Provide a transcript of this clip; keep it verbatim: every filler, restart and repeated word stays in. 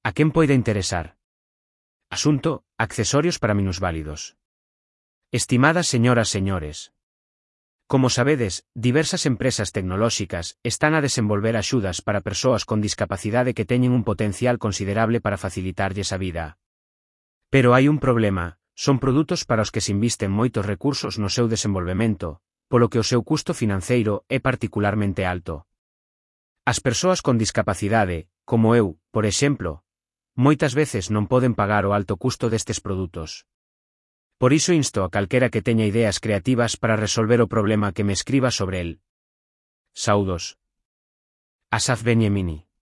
A quen poida interesar? Asunto: accesorios para minusválidos. Estimadas señoras señores. Como sabedes, diversas empresas tecnolóxicas están a desenvolver axudas para persoas con discapacidade que teñen un potencial considerable para facilitarlles a vida. Pero hai un problema: son produtos para os que se invisten moitos recursos no seu desenvolvemento, polo que o seu custo financeiro é particularmente alto. As persoas con discapacidade, como eu, por exemplo, moitas veces non poden pagar o alto custo destes produtos. Por iso insto a calquera que teña ideas creativas para resolver o problema que me escriba sobre el. Saudos. Asaf Benyemini.